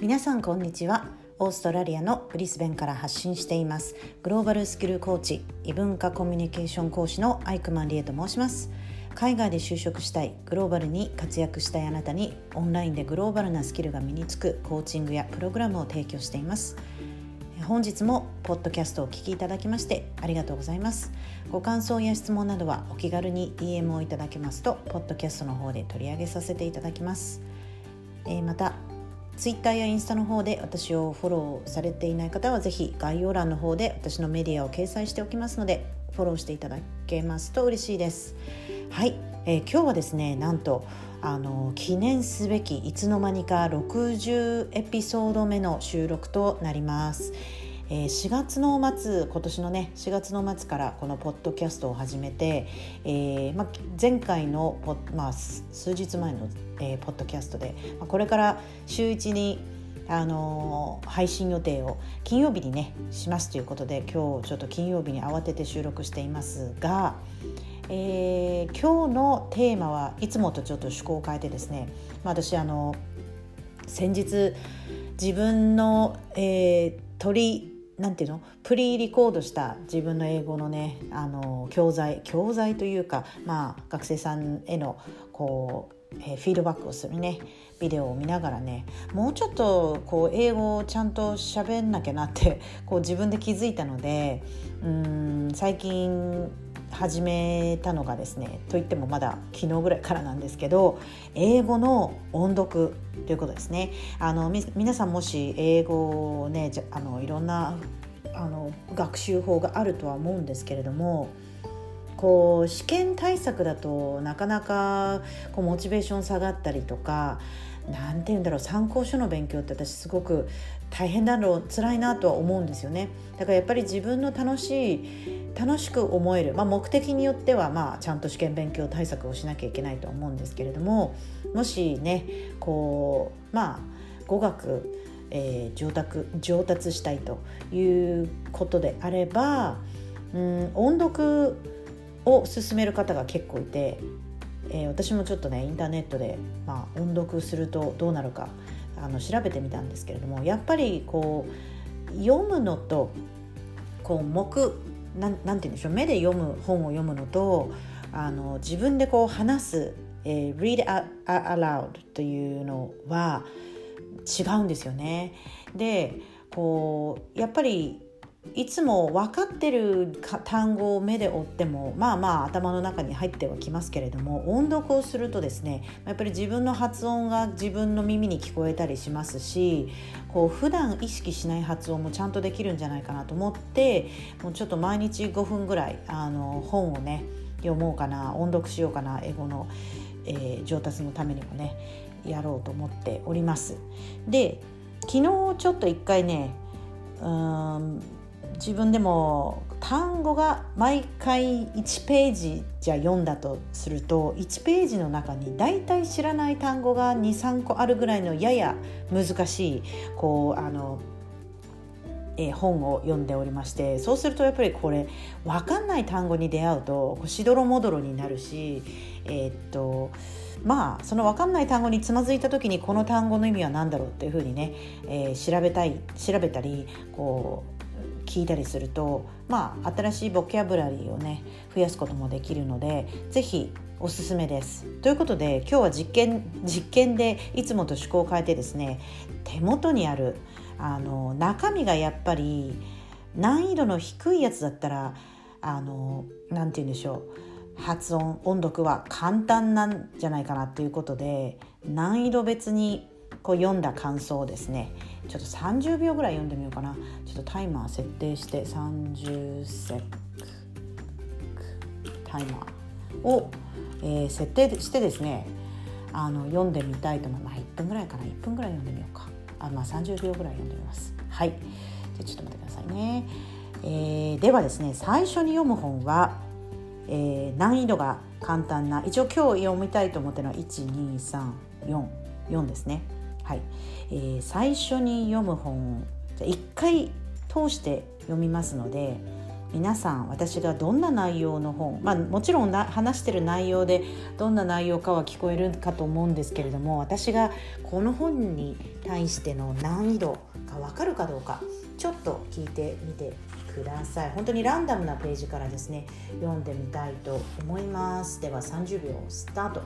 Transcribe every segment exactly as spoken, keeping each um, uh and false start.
皆さんこんにちは。オーストラリアのブリスベンから発信していますグローバルスキルコーチ、異文化コミュニケーション講師のアイクマンリエと申します。海外で就職したい、グローバルに活躍したいあなたにオンラインでグローバルなスキルが身につくコーチングやプログラムを提供しています。本日もポッドキャストをお聞きいただきましてありがとうございます。ご感想や質問などはお気軽に ディーエム をいただけますとポッドキャストの方で取り上げさせていただきます。えー、またツイッターやインスタの方で私をフォローされていない方はぜひ概要欄の方で私のメディアを掲載しておきますのでフォローしていただけますと嬉しいです。はい、えー、今日はですね、なんとあの記念すべきいつの間にかろくじゅうエピソード目の収録となります。えー、しがつの末、今年のねしがつの末からこのポッドキャストを始めて、えーま、前回のポ、まあ、数日前の、えー、ポッドキャストで、ま、これから週いちにあのー、配信予定を金曜日にねしますということで、今日ちょっと金曜日に慌てて収録していますが、えー、今日のテーマはいつもとちょっと趣向を変えてですね、まあ、私あの先日自分の、えー、取りなんていうのプリリコードした自分の英語のねあの教材教材というか、まあ、学生さんへのこう、えー、フィードバックをするねビデオを見ながらね、もうちょっとこう英語をちゃんと喋んなきゃなってこう自分で気づいたので、うーん最近始めたのがですね、といってもまだ昨日ぐらいからなんですけど、英語の音読ということですね。あのみ皆さんもし英語をねじゃあのいろんなあの学習法があるとは思うんですけれども、こう試験対策だとなかなかこうモチベーション下がったりとか、なんて言うんだろう、参考書の勉強って私すごく大変だろう辛いなとは思うんですよね。だからやっぱり自分の楽しい楽しく思える、まあ、目的によっては、まあ、ちゃんと試験勉強対策をしなきゃいけないと思うんですけれども、もしねこうまあ語学、えー、上達、上達したいということであれば、うん、音読を進める方が結構いて、えー、私もちょっとねインターネットで、まあ、音読するとどうなるかあの調べてみたんですけれども、やっぱりこう読むのとこう目なん、なんて言うんでしょう、目で読む本を読むのとあの自分でこう話す、えー、read aloud というのは違うんですよね。でこうやっぱりいつも分かってる単語を目で追ってもまあまあ頭の中に入ってはきますけれども、音読をするとですねやっぱり自分の発音が自分の耳に聞こえたりしますし、こう普段意識しない発音もちゃんとできるんじゃないかなと思って、もうちょっと毎日ごふんぐらいあの本をね読もうかな、音読しようかな、英語の、えー、上達のためにもねやろうと思っております。で昨日ちょっと一回ねうーん自分でも単語が毎回いちページじゃ読んだとすると、いちページの中にだいたい知らない単語が にさんこあるぐらいのやや難しいこうあの、えー、本を読んでおりまして、そうするとやっぱりこれ分かんない単語に出会うとしどろもどろになるし、えー、っとまあその分かんない単語につまずいた時にこの単語の意味は何だろうっていうふうにね、えー、調べたい調べたりこう聞いたりすると、まあ新しいボキャブラリーをね増やすこともできるので、ぜひおすすめです。ということで今日は実験実験でいつもと趣向を変えてですね、手元にあるあの中身がやっぱり難易度の低いやつだったらあのなんて言うんでしょう、発音音読は簡単なんじゃないかなということで、難易度別にこう読んだ感想をですねちょっとさんじゅうびょうぐらい読んでみようかな。ちょっとタイマー設定してさんじゅっセックタイマーを、えー、設定してですねあの読んでみたいと思います。まあ、いっぷんぐらいかないっぷんぐらい読んでみようか。あ、まあ、さんじゅうびょうぐらい読んでみます。はい、じゃあちょっと待ってくださいね。えー、ではですね最初に読む本は、えー、難易度が簡単な、一応今日読みたいと思ってるのはいち、に、さん、よん、よんですね。はい、えー、最初に読む本じゃいっかい通して読みますので、 皆さん私がどんな内容の本、まあ、もちろんな話してる内容でどんな内容かは聞こえるかと思うんですけれども、私がこの本に対しての難易度が分かるかどうかちょっと聞いてみてください。本当にランダムなページからですね読んでみたいと思います。ではさんじゅうびょうスタート。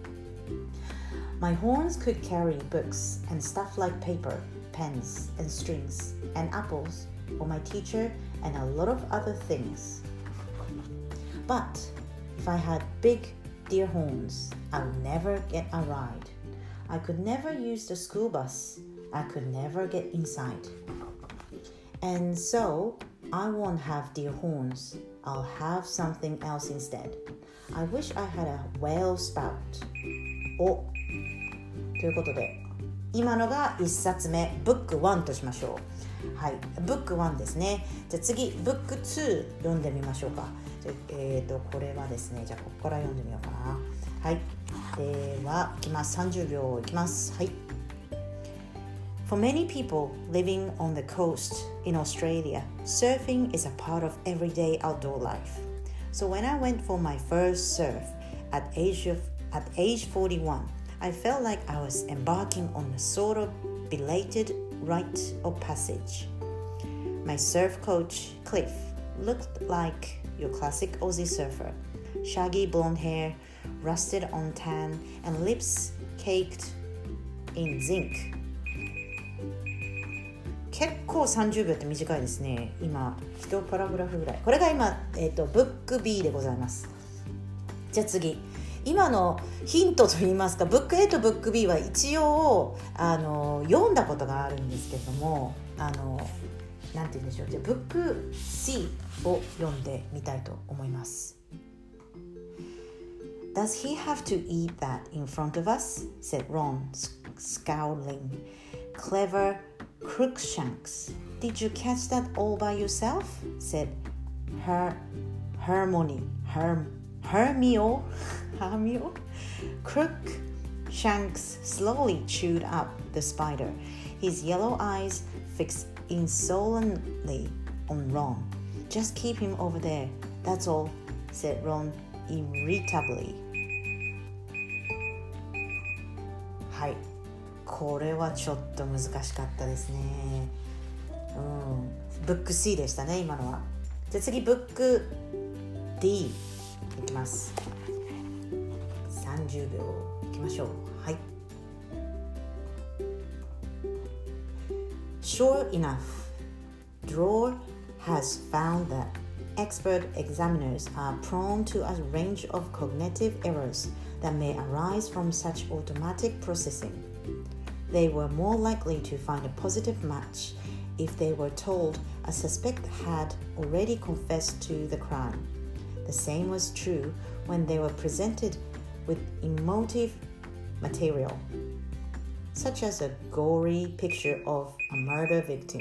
My horns could carry books and stuff like paper, pens and strings and apples for my teacher and a lot of other things. But if I had big deer horns, I would never get a ride. I could never use the school bus. I could never get inside. And so I won't have deer horns. I'll have something else instead. I wish I had a whale spout. お、ということで今のがいっさつめ、ブックワンとしましょう。はい、ブックワンですね。じゃあ次ブックツー読んでみましょうか。じゃあ、えーとこれはですね、じゃあここから読んでみようかな。はい、ではいきます。さんじゅうびょういきます。はい。For many people living on the coast in Australia, surfing is a part of everyday outdoor life. So when I went for my first surf at age of at age forty-one, I felt like I was embarking on a sort of belated rite of passage. My surf coach, Cliff, looked like your classic Aussie surfer. Shaggy blonde hair, rusted on tan, and lips caked in zinc.結構さんじゅうびょうって短いですね。今いちパラグラフぐらい。これが今、えーと、ブック B でございます。じゃあ次、今のヒントといいますか、ブック A とブック B は一応あの読んだことがあるんですけれども、あのなんて言うんでしょう。じゃあブック C を読んでみたいと思います。Does he have to eat that in front of us? said Ron, scowling. Clever Crookshanks. Did you catch that all by yourself? said Her Hermione. Herm Hermio Hermio. Crookshanks slowly chewed up the spider, his yellow eyes fixed insolently on Ron. Just keep him over there, that's all, said Ron irritably. はい、これはちょっと難しかったですね。うん、ブック C でしたね、今のは。じゃあ次、ブック D いきます。さんじゅうびょういきましょう。はい。Sure enough, Drawer has found that expert examiners are prone to a range of cognitive errors that may arise from such automatic processing. They were more likely to find a positive match if they were told a suspect had already confessed to the crime. The same was true when they were presented with emotive material, such as a gory picture of a murder victim.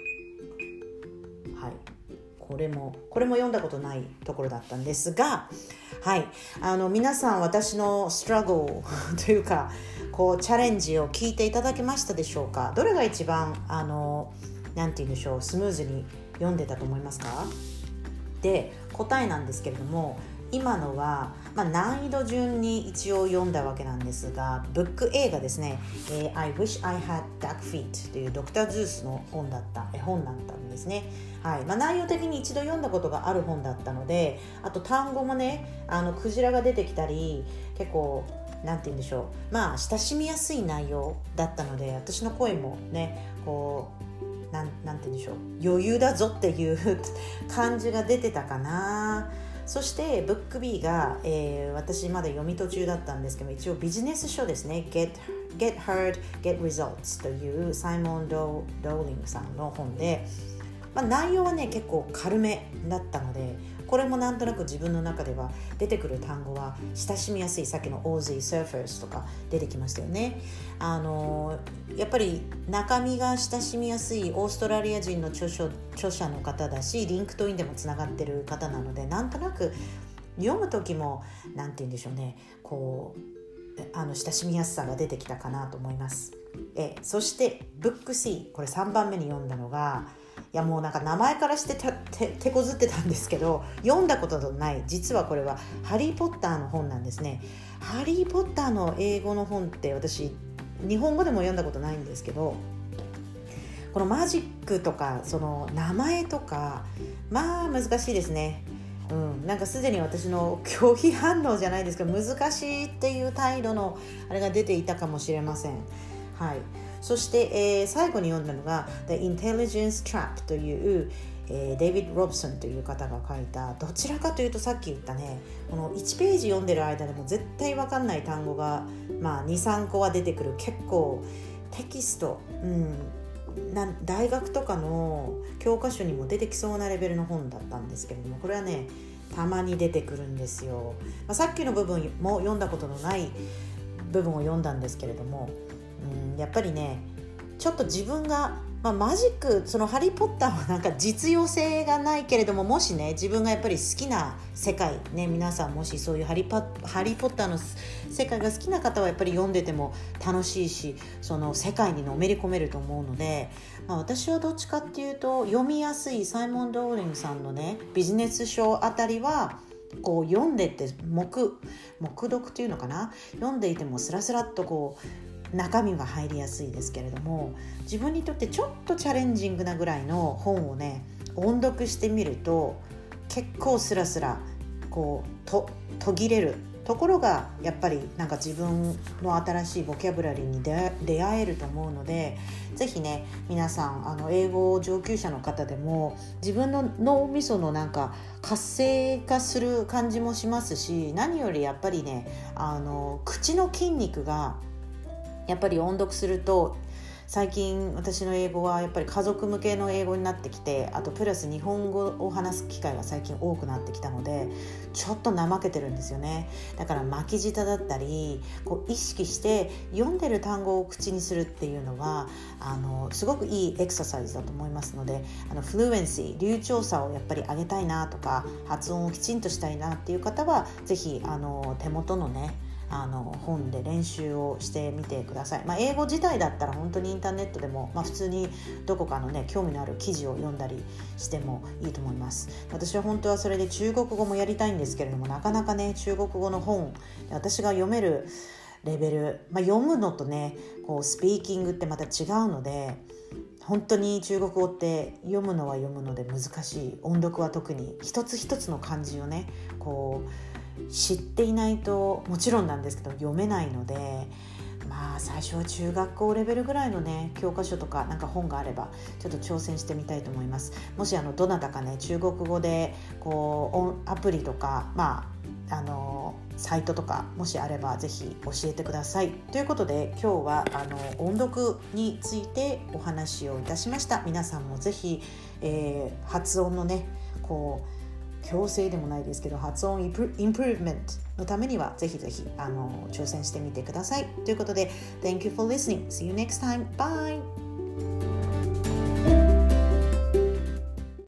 はい。これもこれも読んだことないところだったんですが、はい、あの皆さん私のストラゴルというかこうチャレンジを聞いていただけましたでしょうか。どれが一番あのなんて言うんでしょう、スムーズに読んでたと思いますか。で答えなんですけれども、今のは、まあ、難易度順に一応読んだわけなんですが、ブック A がですね、えー、I wish I had duck feet というドクター・ズースの本だった絵本だったんですね。はい、まあ、内容的に一度読んだことがある本だったので、あと単語もね、あのクジラが出てきたり、結構なんて言うんでしょう、まあ親しみやすい内容だったので、私の声もね、こうなん、なんて言うんでしょう、余裕だぞっていう感じが出てたかな。そしてブック B が、えー、私まだ読み途中だったんですけど、一応ビジネス書ですね。 Get, Get Heard, Get Results というサイモン・ドーリングさんの本で、まあ、内容はね結構軽めだったので、これもなんとなく自分の中では出てくる単語は親しみやすい、さっきの Aussie Surfers とか出てきましたよね。あのやっぱり中身が親しみやすいオーストラリア人の著書著者の方だし、リンクトインでもつながってる方なので、なんとなく読む時もなんて言うんでしょうね、こうあの親しみやすさが出てきたかなと思います。えそしてブック C、 これさんばんめに読んだのが、 やもうなんか名前からしてたて手こずってたんですけど、読んだことのない、実はこれはハリーポッターの本なんですね。ハリーポッターの英語の本って私日本語でも読んだことないんですけど、このマジックとかその名前とかまあ難しいですね。うん、なんかすでに私の拒否反応じゃないですけど、難しいっていう態度のあれが出ていたかもしれません。はい。そして、えー、最後に読んだのが The Intelligence Trap という、えー、デイビッド・ロブソンという方が書いた、どちらかというとさっき言ったね、このいちページ読んでる間でも絶対分かんない単語が、まあ、にさんこは出てくる、結構テキスト、うん、な大学とかの教科書にも出てきそうなレベルの本だったんですけれども、これはねたまに出てくるんですよ。まあ、さっきの部分も読んだことのない部分を読んだんですけれども、うん、やっぱりねちょっと自分が、まあ、マジック、そのハリーポッターはなんか実用性がないけれども、もしね自分がやっぱり好きな世界ね、皆さんもしそういうハリパハリーポッターの世界が好きな方はやっぱり読んでても楽しいし、その世界にのめり込めると思うので、まあ、私はどっちかっていうと読みやすいサイモン・ローリングさんのねビジネス書あたりはこう読んでて黙黙読っていうのかな、読んでいてもスラスラっとこう中身が入りやすいですけれども、自分にとってちょっとチャレンジングなぐらいの本をね音読してみると結構スラスラこうと途切れるところがやっぱりなんか自分の新しいボキャブラリーに出会えると思うので、ぜひね皆さんあの英語上級者の方でも自分の脳みそのなんか活性化する感じもしますし、何よりやっぱりねあの口の筋肉がやっぱり音読すると、最近私の英語はやっぱり家族向けの英語になってきて、あとプラス日本語を話す機会が最近多くなってきたので、ちょっと怠けてるんですよね。だから巻き舌だったりこう意識して読んでる単語を口にするっていうのはあのすごくいいエクササイズだと思いますので、あのフルエンシー流暢さをやっぱり上げたいなとか、発音をきちんとしたいなっていう方はぜひあの手元のねあの本で練習をしてみてください。まあ、英語自体だったら本当にインターネットでも、まあ、普通にどこかのね興味のある記事を読んだりしてもいいと思います。私は本当はそれで中国語もやりたいんですけれども、なかなかね中国語の本私が読めるレベル、まあ、読むのとねこうスピーキングってまた違うので、本当に中国語って読むのは読むので難しい。音読は特に一つ一つの漢字をねこう知っていないともちろんなんですけど読めないので、まあ最初は中学校レベルぐらいのね教科書とかなんか本があればちょっと挑戦してみたいと思います。もしあのどなたかね中国語でこうアプリとかまああのサイトとかもしあればぜひ教えてください。ということで今日はあの音読についてお話をいたしました。皆さんもぜひ、えー、発音のねこう強制でもないですけど発音インプルーブメントのためにはぜひぜひあの挑戦してみてください。ということで Thank you for listening. See you next time. Bye!